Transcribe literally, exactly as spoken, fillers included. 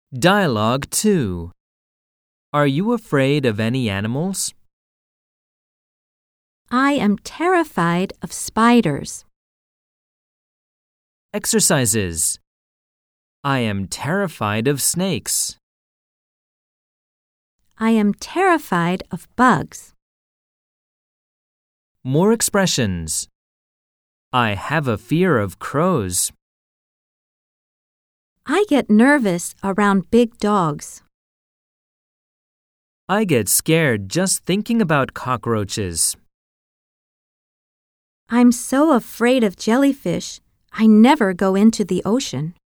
Dialogue two. Are you afraid of any animals? I am terrified of spiders. Exercises. I am terrified of snakes. I am terrified of bugs. More expressions. I have a fear of crows. I get nervous around big dogs. I get scared just thinking about cockroaches. I'm so afraid of jellyfish, I never go into the ocean.